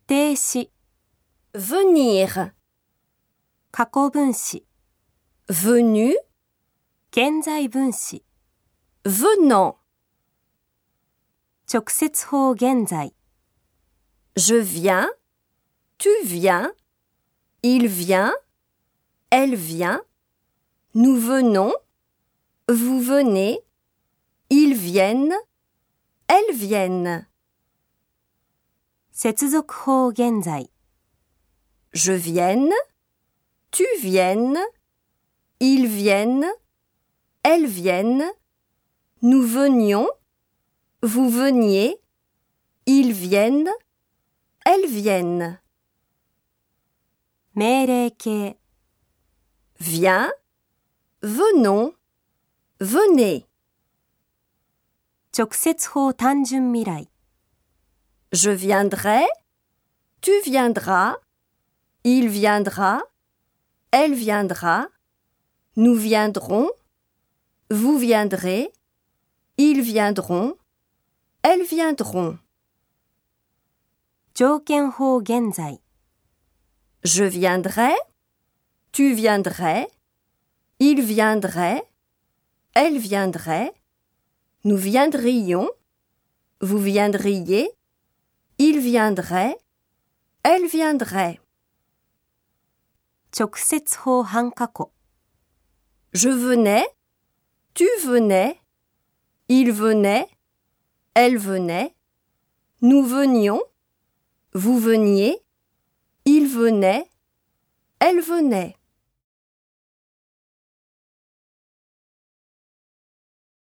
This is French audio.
定詞、 venir, 過去分詞、 venu, 現在分詞、 venant, 直接法現在、 je viens, tu viens, il vient, elle vient, nous venons, vous venez, ils viennent, elles viennent. 接続法現在、 Je vienne, tu viennes, ils viennent, elles viennent, nous venions, vous veniez, ils viennent, elles viennent. 命令形、 Viens, venons, venez. 直接法単純未来、 Je viendrai, tu viendras, il viendra, elle viendra, nous viendrons, vous viendrez, ils viendront, elles viendront. 条件法現在、 Je viendrai, tu viendrais, il viendrait, elle viendrait, nous viendrions, vous viendriez, il viendrait, elle viendrait. 直接法半過去、 Je venais, tu venais, il venait, elle venait, nous venions, vous veniez, il venait, elle venait.